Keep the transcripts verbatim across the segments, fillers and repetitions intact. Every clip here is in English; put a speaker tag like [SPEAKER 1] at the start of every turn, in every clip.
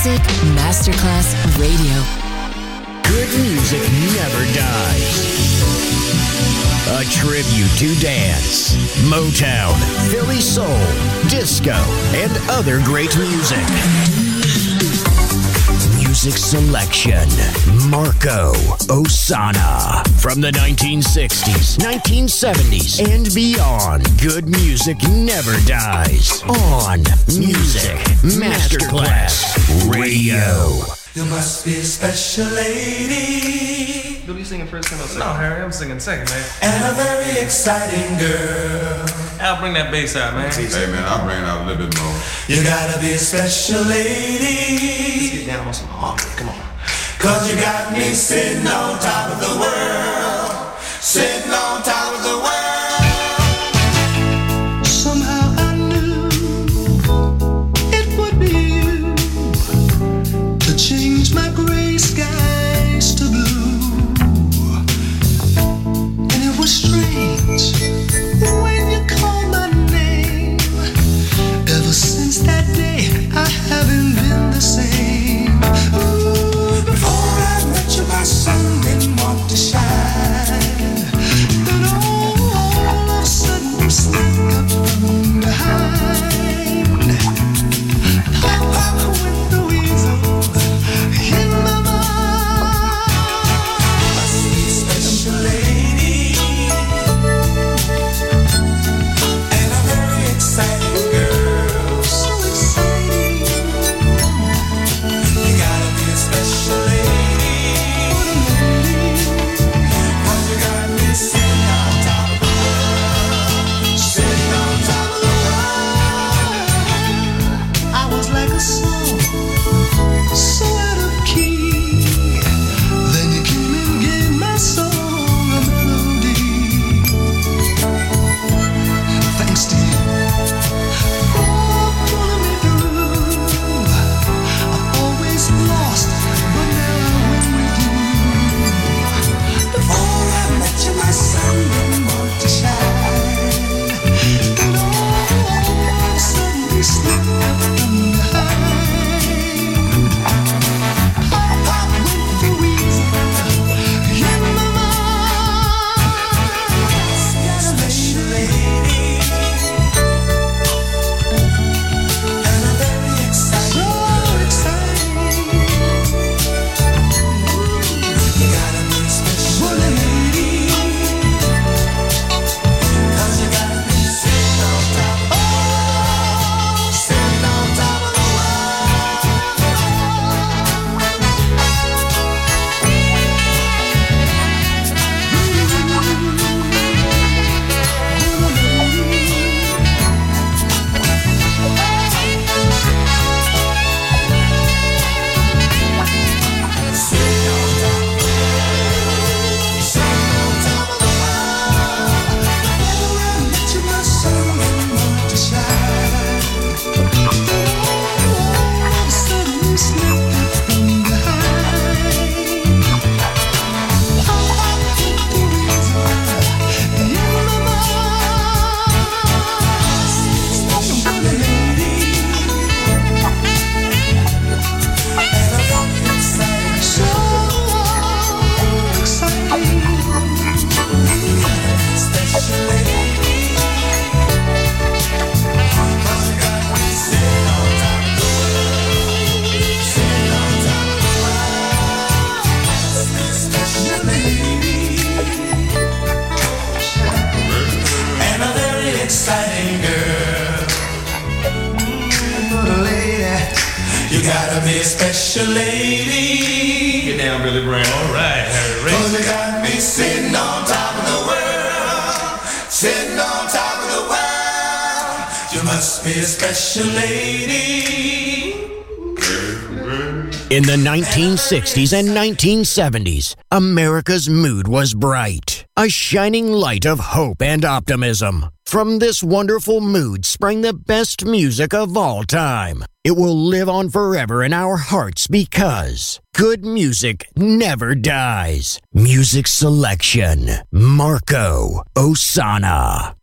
[SPEAKER 1] Music Masterclass Radio.
[SPEAKER 2] Good music never dies. A tribute to dance, Motown, Philly soul, disco, and other great music. Music selection, Marco Ossanna. From the nineteen sixties, nineteen seventies, and beyond, good music never dies. On Music Masterclass Radio.
[SPEAKER 3] You must be a special lady.
[SPEAKER 4] What are you singing first? Or second?
[SPEAKER 5] No, Harry, I'm singing second, man.
[SPEAKER 3] And a very exciting girl.
[SPEAKER 5] Al, bring that bass out, man.
[SPEAKER 6] Hey, man, I'll bring it out a little bit more.
[SPEAKER 3] You gotta be a special lady.
[SPEAKER 4] Let's get down on some harmony. Come on.
[SPEAKER 3] Cause you got me sitting on top of the world. Sitting on top of the world. Somehow I knew it would be you to change my gray skies to blue. And it was strange when you called my name. Ever since that day I haven't been the same. Ooh, before I met you my sun didn't want to shine. Then all of a sudden you snuck up from behind. Pop, pop went the weasel in my mind. Must be a special lady and a very exciting girl. So exciting. You gotta be a special lady. Cause you got me sitting on top of the world. Sitting on top of the world. I was like a song, so out of key. Then you came and gave my song a melody. Thanks to you for pulling me through. I've always lost, but now I win with you. Before I met you, my sun didn't want to shine. And all of a sudden, you slipped up from behind. Pop, pop went the weasel in my mind. Special lady and a very exciting, so exciting. You gotta be a special lady. Cause you got me sitting on top of, oh, sitting on top of the and a very exciting girl. Little lady, you gotta be a special lady.
[SPEAKER 5] Get down, Billy Brown. All right, Harry.
[SPEAKER 3] Cause you got me sitting on top of the world. Sitting on top of the world. You must be a special lady.
[SPEAKER 2] In the nineteen sixties and nineteen seventies, America's mood was bright, a shining light of hope and optimism. From this wonderful mood sprang the best music of all time. It will live on forever in our hearts because good music never dies. Music selection, Marco Ossanna.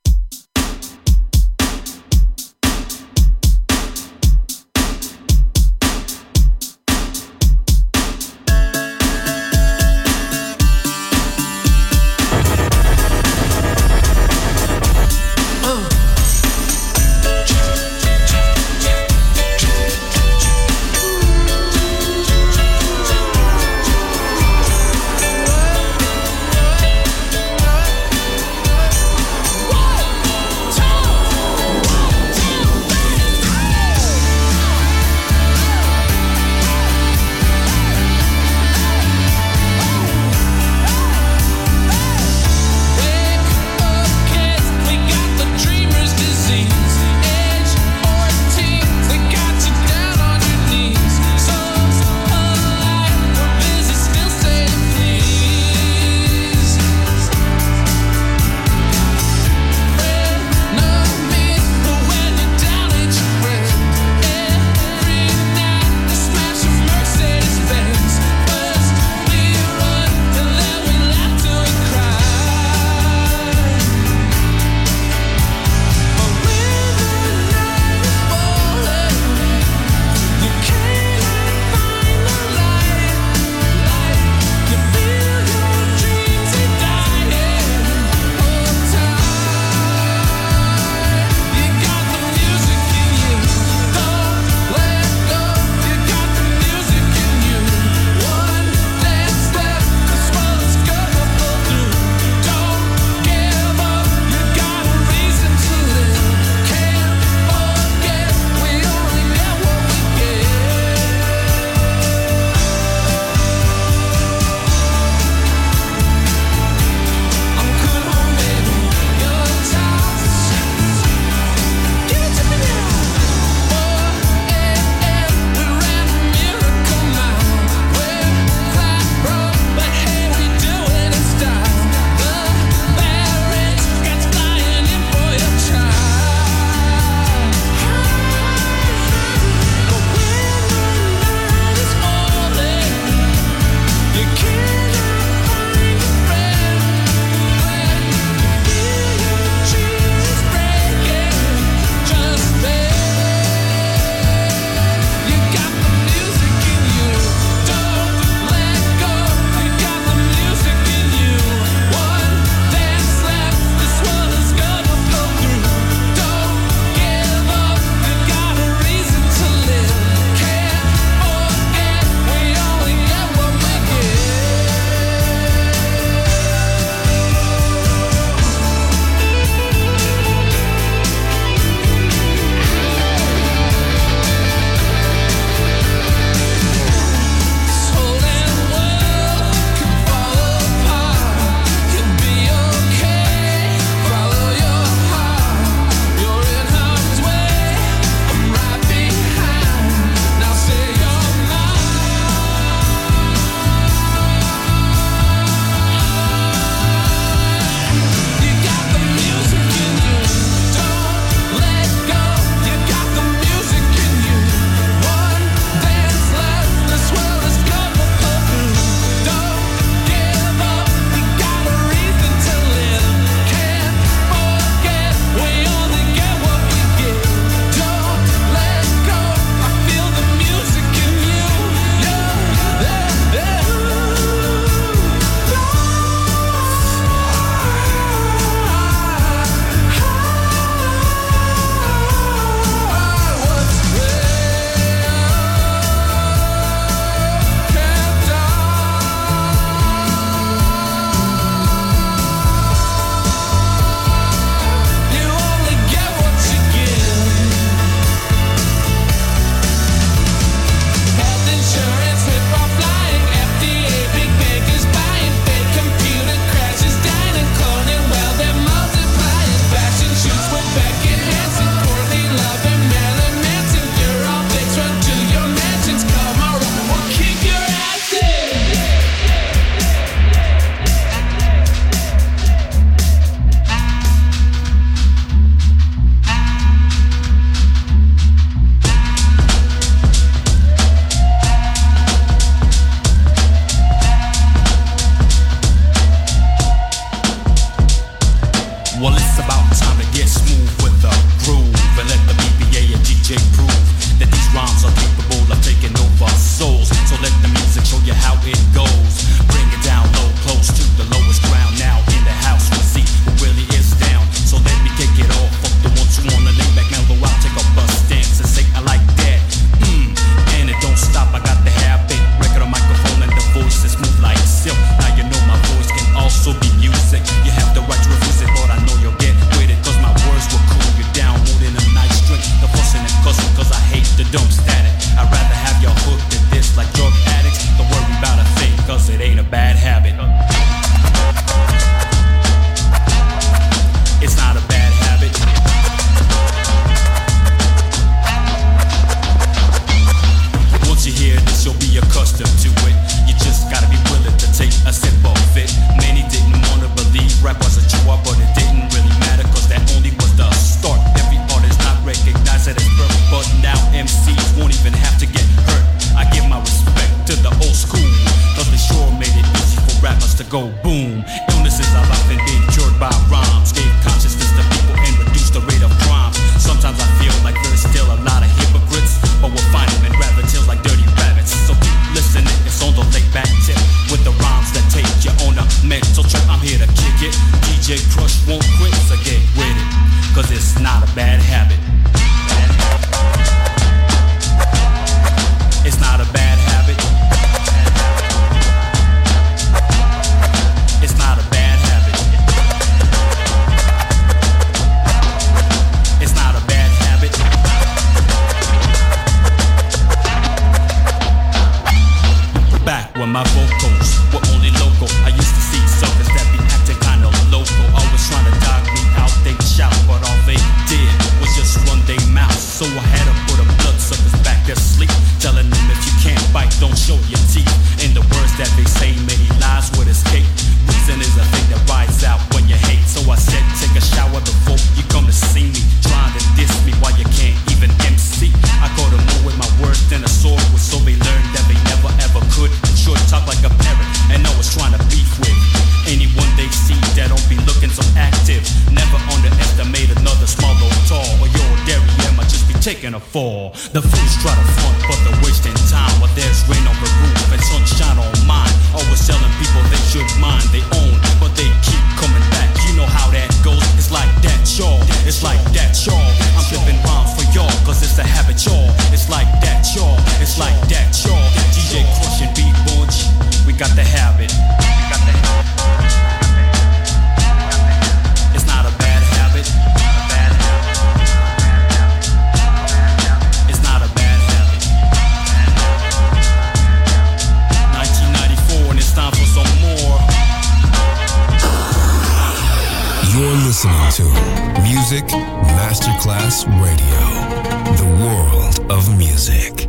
[SPEAKER 7] dumb static. I'd rather have y'all hooked than this like drug addicts. Don't worry about a thing, cause it ain't a bad habit. It's not a bad habit. Once you hear this, you'll be accustomed to it. You just gotta be willing to take a sip of it. Many didn't wanna believe rap was a chore, but it didn't really matter, cause that only was the start. Every artist not recognized it as birth, but now M Cs won't even have to get hurt. I give my respect to the old school, cause they sure made it easy for rappers to go boom. Illnesses are often being cured by rhymes, gave consciousness to people and reduced the rate of crime. Sometimes I feel like there's still a lot of hypocrites, but we'll find them in rabbit tails like dirty rabbits. So keep listening, it's on the laid back tip, with the rhymes that take you on a mental trip. I'm here to kick it, D J Crush won't quit, so get with it, cause it's not a bad habit. It's not a bad habit. It's not a bad habit. It's not a bad habit. Back when my vocals were only local, I used to see suckers that be acting kinda local, always trying to dog me out. They shout, but all they did was just run their mouth. So I had to put a bloodsuckers back to sleep, telling them if you can't bite, don't show your teeth. In the words that they say, many lies would escape. Reason is a thing that rides out when you hate. So I said, take a shower before you come to see me. Trying to diss me while you can't even M C. I go to more with my words than a sword with, so they learned that they never ever could. Sure talk like a parrot and always trying to beef with anyone they see that don't be looking so active. Never underestimate another small or tall, or your dairy might just be taking a fall. The fools try to front, but they're wasting time while there's rain on the roof and sunshine on mine. Always telling people they should mind they own, but they keep coming back. You know how that goes. It's like that, y'all. It's like that, y'all. I'm flipping rhymes for y'all, cause it's a habit, y'all. It's like that, y'all. It's like that, y'all. D J Crush and Beat Bunch, we got the habit. We got the habit. It's not a bad habit. It's not a bad habit. nineteen ninety-four, and it's time for some more.
[SPEAKER 8] You're listening to Music Masterclass Radio, the world of music.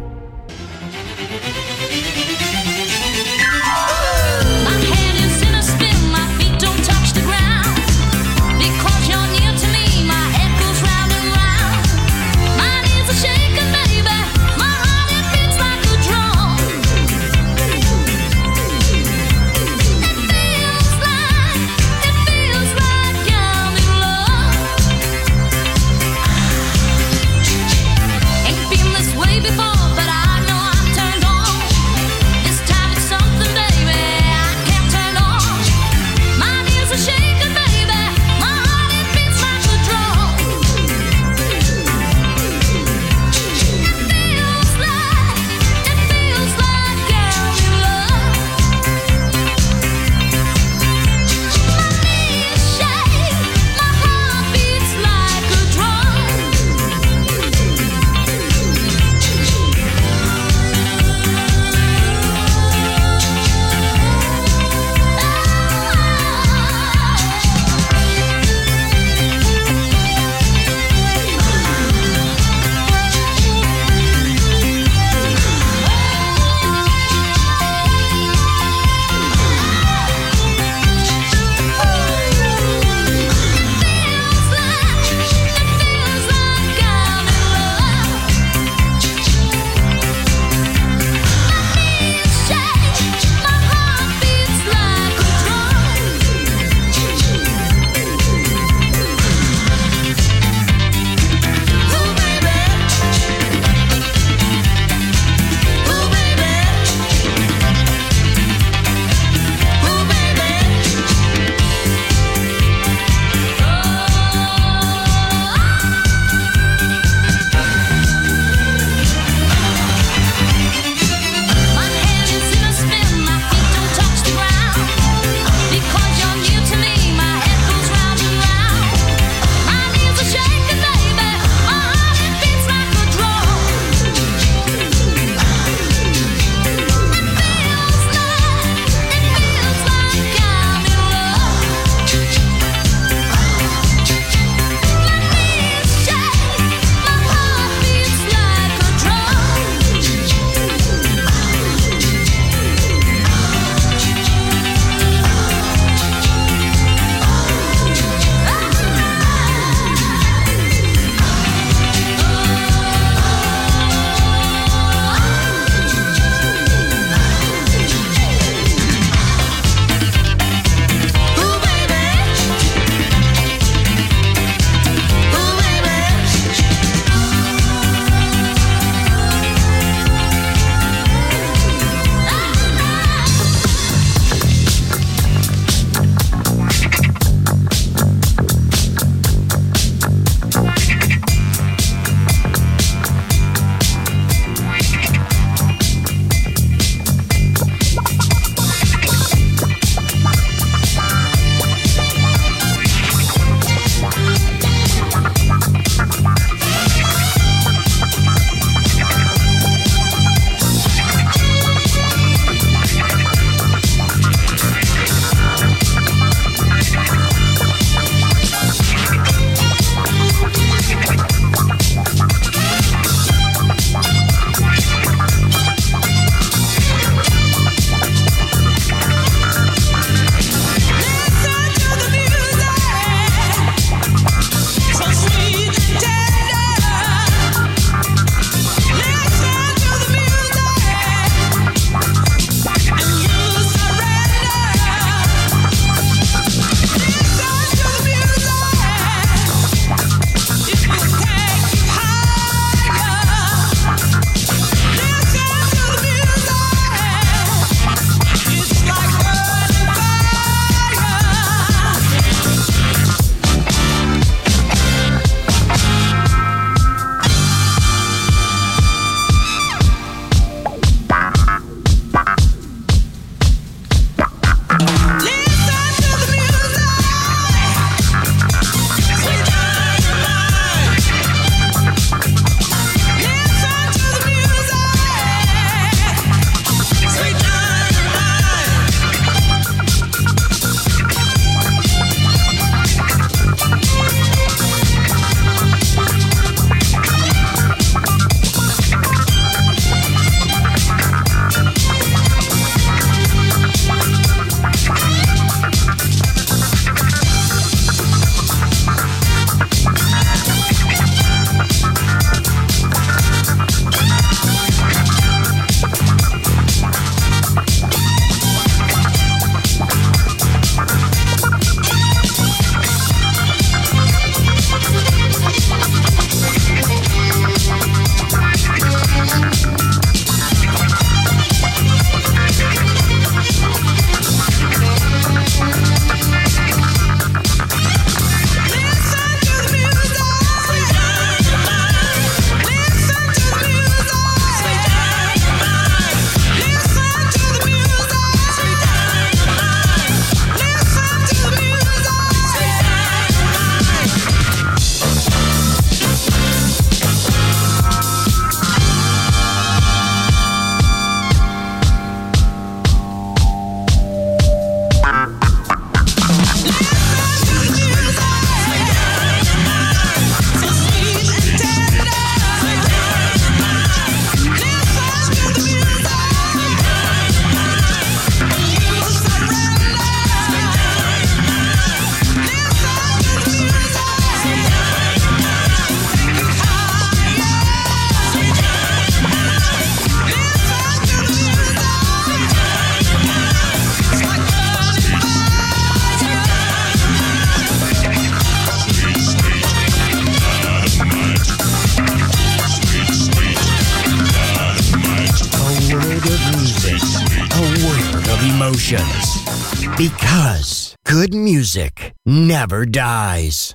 [SPEAKER 2] emotions. Because good music never dies.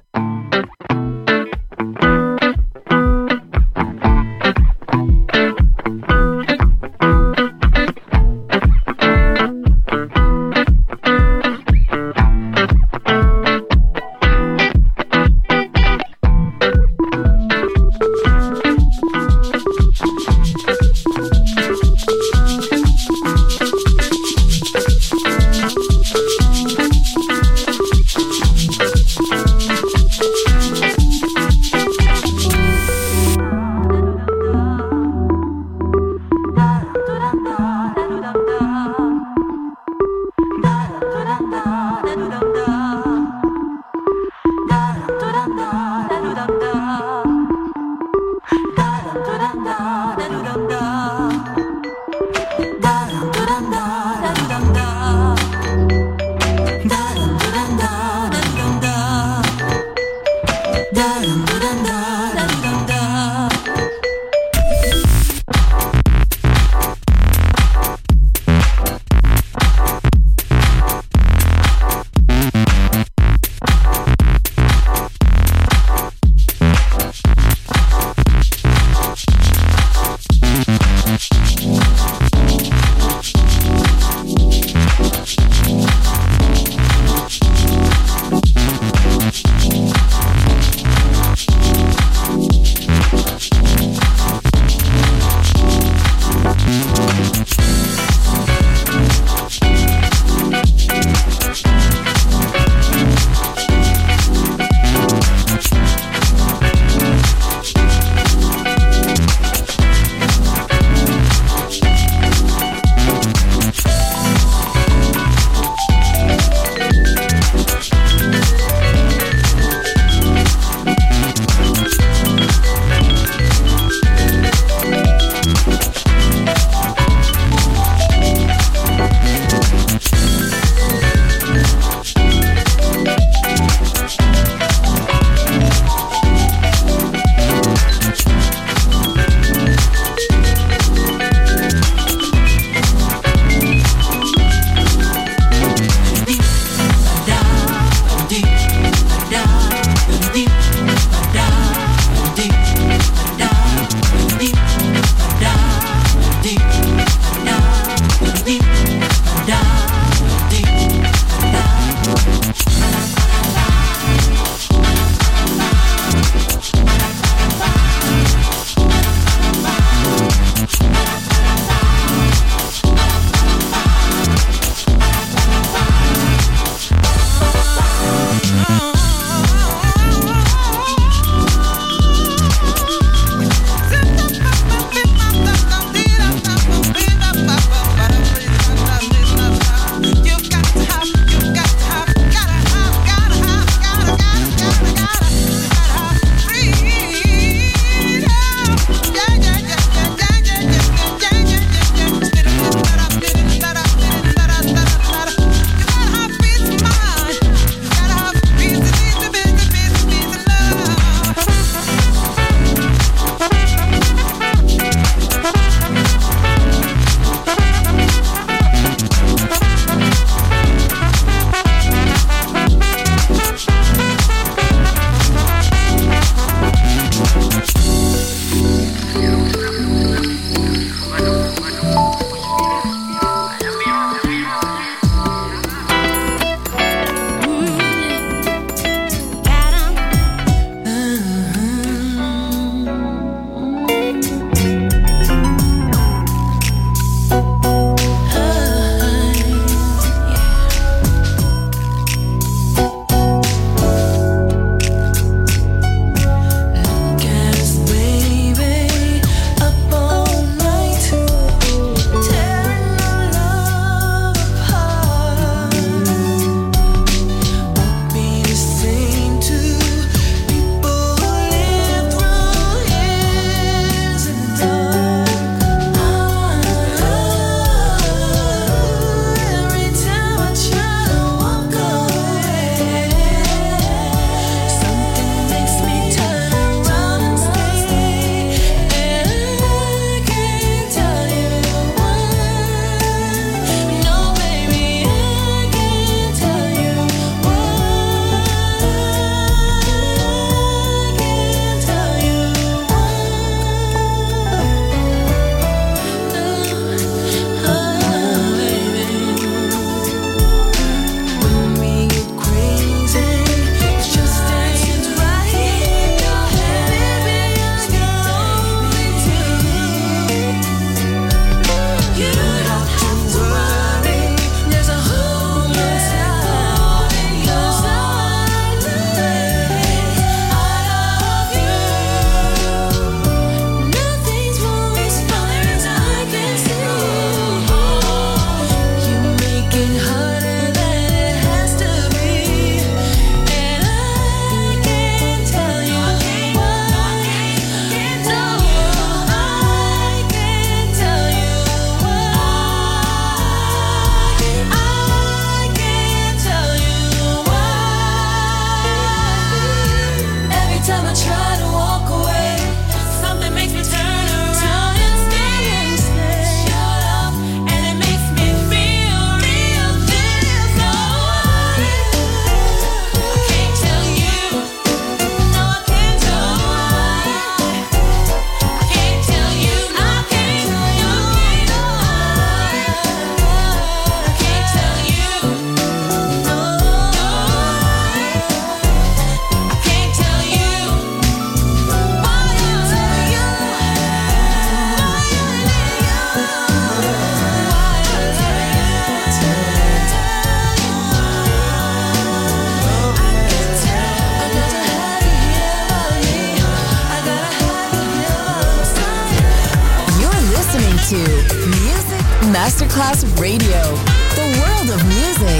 [SPEAKER 1] to Music Masterclass Radio, the world of music.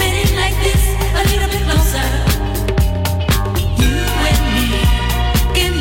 [SPEAKER 9] Moving in like this, a little bit closer. You and me.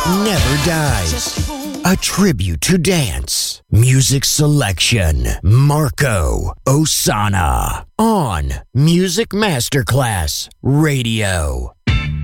[SPEAKER 2] never dies. A tribute to dance. Music selection. Marco Ossanna. On Music Masterclass Radio.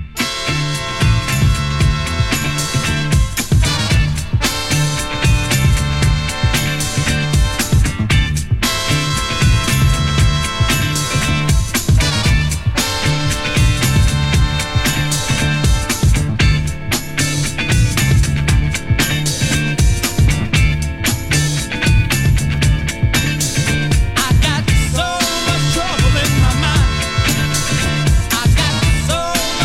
[SPEAKER 9] I got so much trouble in my mind. I got so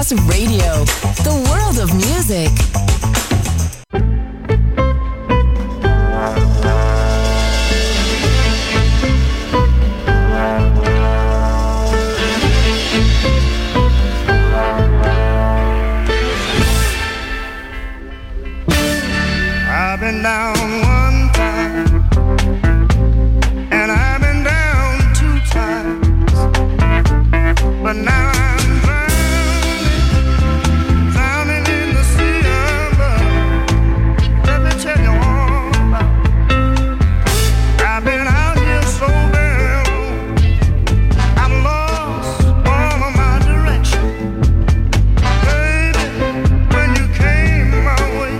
[SPEAKER 1] Masterclass Radio, the world of music.
[SPEAKER 3] I've been down one time, and I've been down two times, but now I'm drowning, drowning in the sea of love. Let me tell you all about it. I've been out here so very long, I've lost all of my direction. Baby, when you came my way,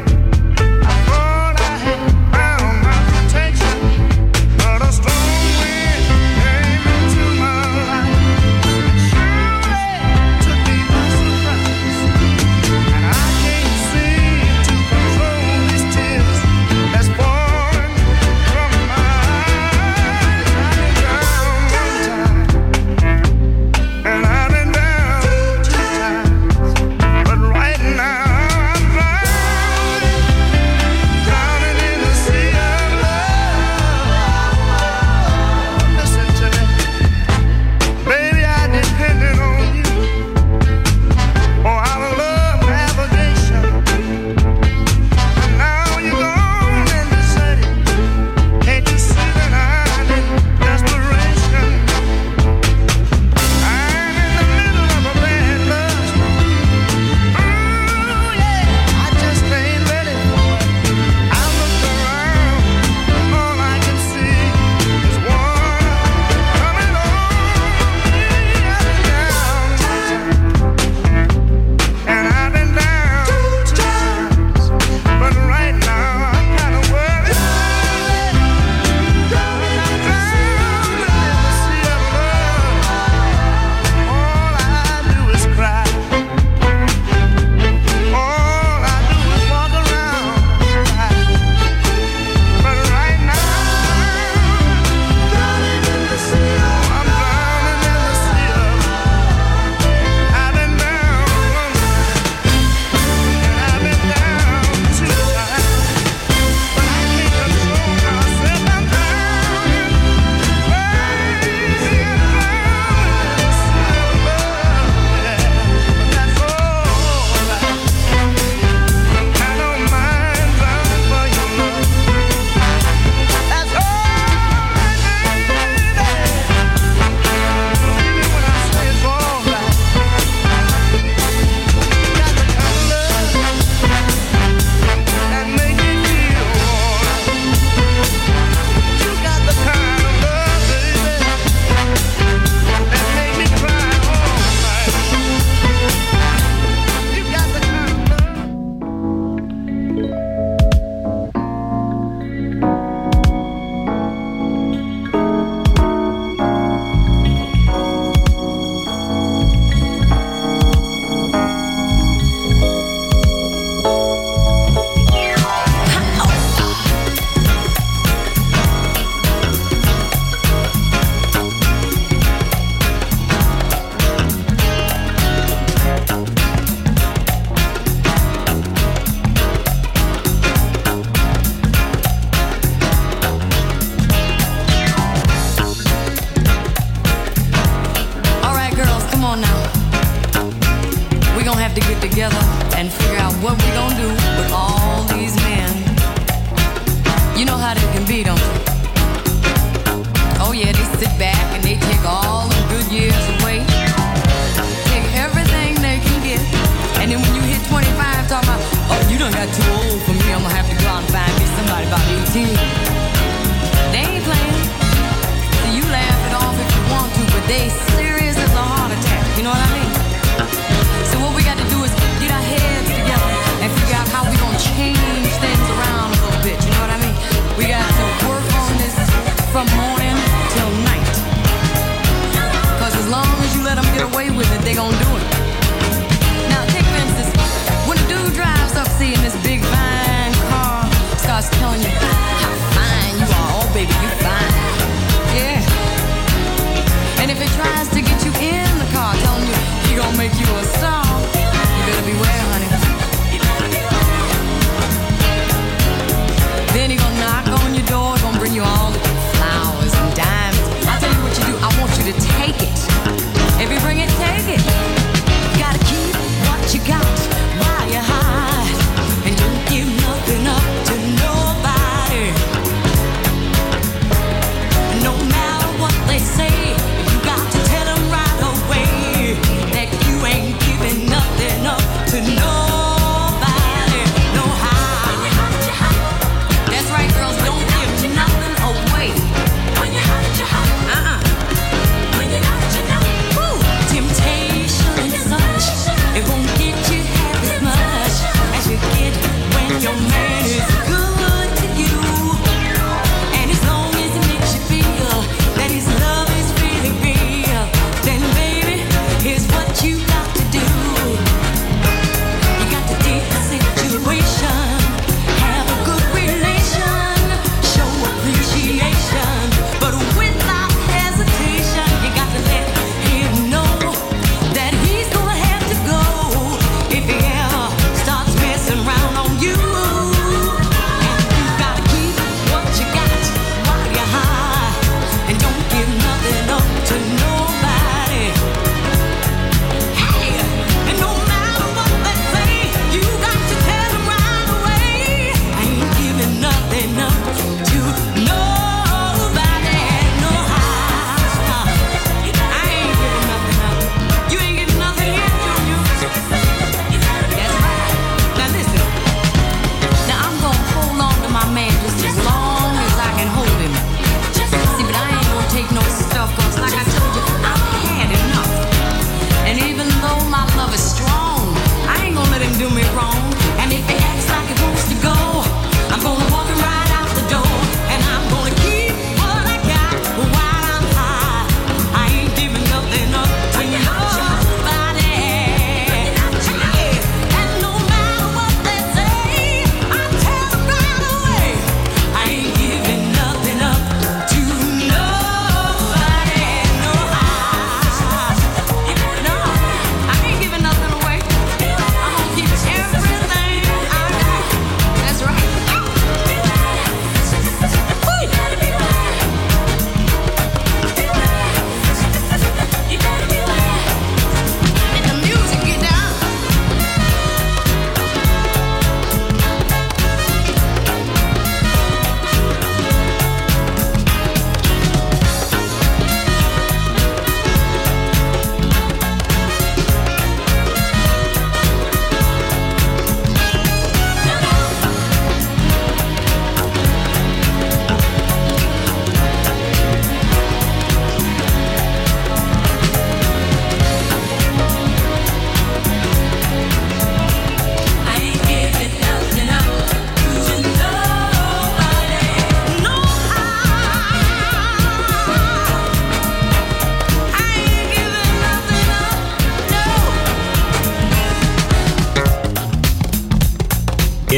[SPEAKER 9] telling you how fine you are. Oh, baby, you fine. Yeah. And if it tries to get you in the car, telling you he gonna make you a star,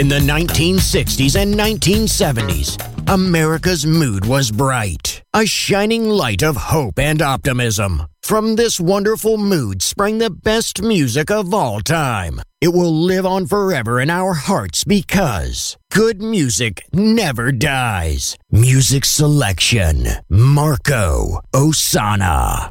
[SPEAKER 2] In the nineteen sixties and nineteen seventies, America's mood was bright, a shining light of hope and optimism. From this wonderful mood sprang the best music of all time. It will live on forever in our hearts because good music never dies. Music selection, Marco Ossanna.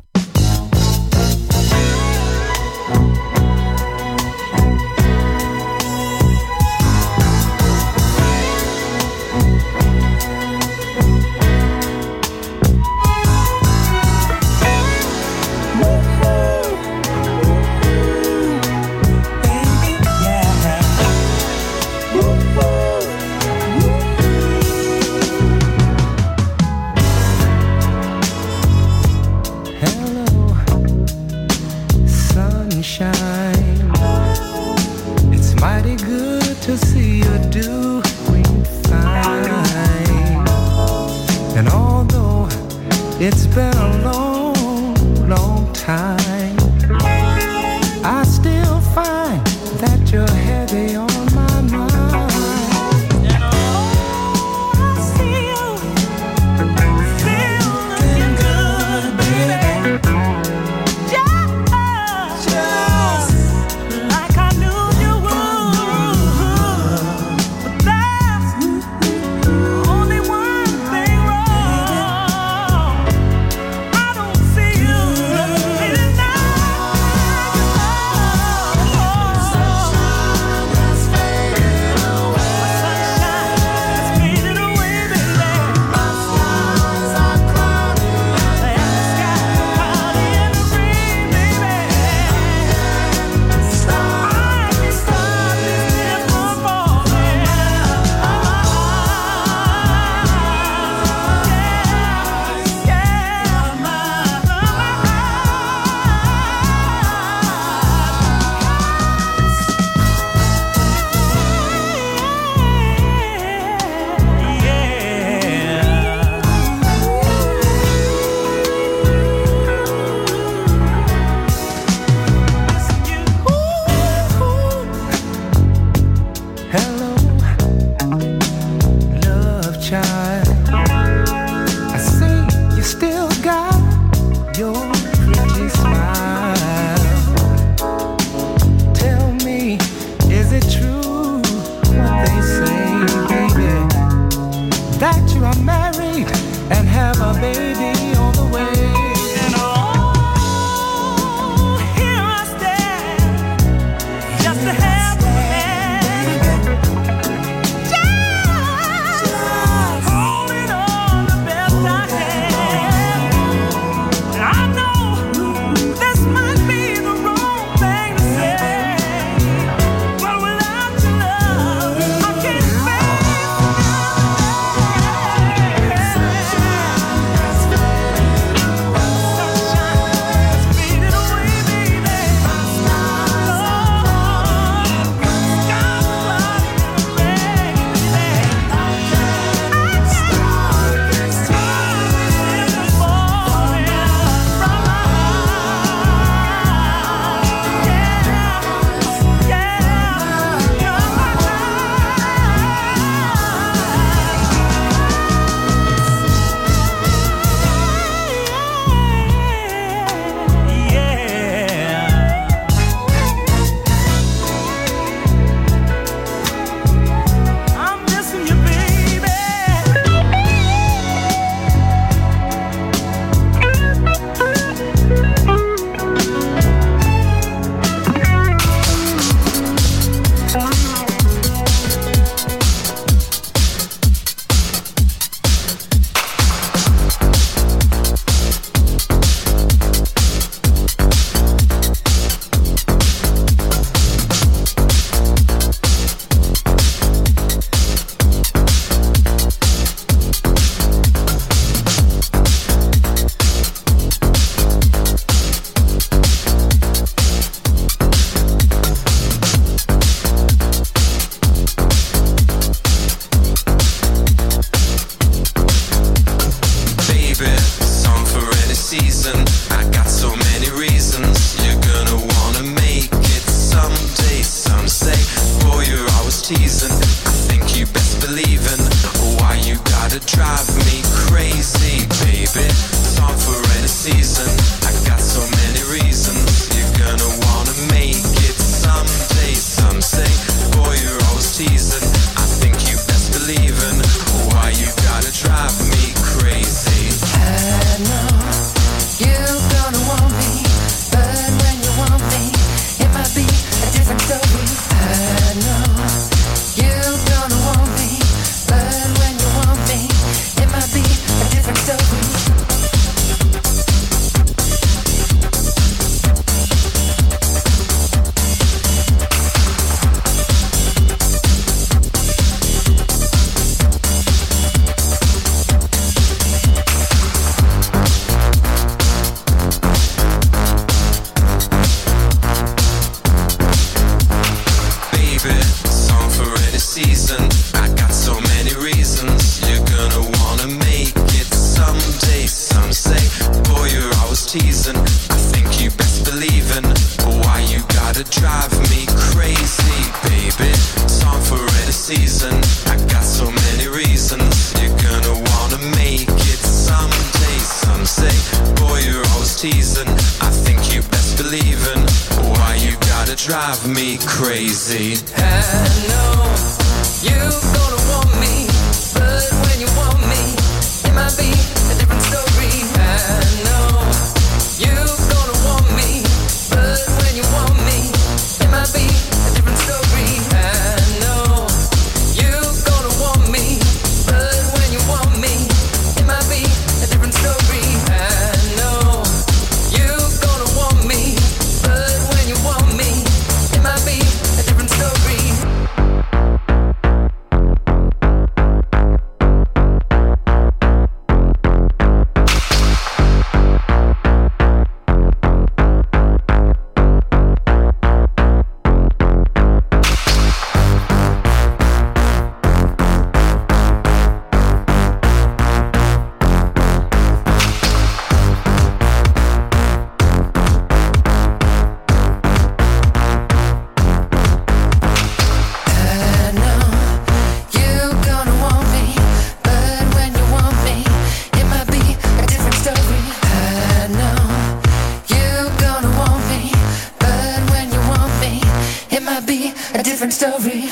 [SPEAKER 3] It's mighty good to see you doing fine. And although it's been a long, long time, I still find that you're heavy on my mind. And oh, I see you feeling good, baby.
[SPEAKER 10] Sunshine. season. I got so many reasons. You're gonna wanna make it someday. Some say, boy, you're always teasing. I think you best believe in why you gotta drive me crazy.
[SPEAKER 3] I know you gonna want me, but when you want me, it might be a different story. I know you gonna want me, but when you want me, it might be a different story. I know you gonna want me, but when you want me, it might be a different story. I know you gonna want me, but when you want me, it might be a different story. Story.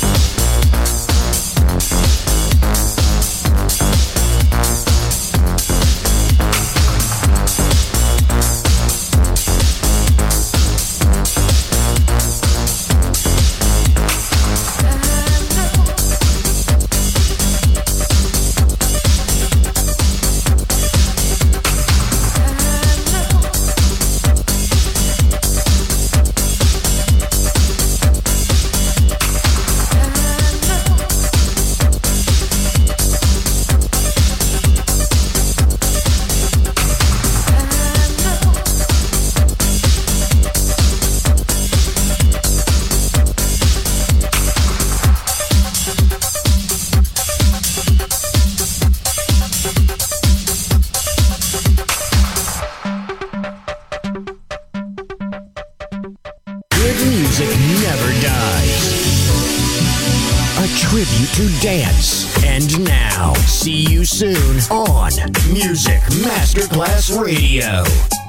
[SPEAKER 2] To dance. And now, see you soon on Music Masterclass Radio.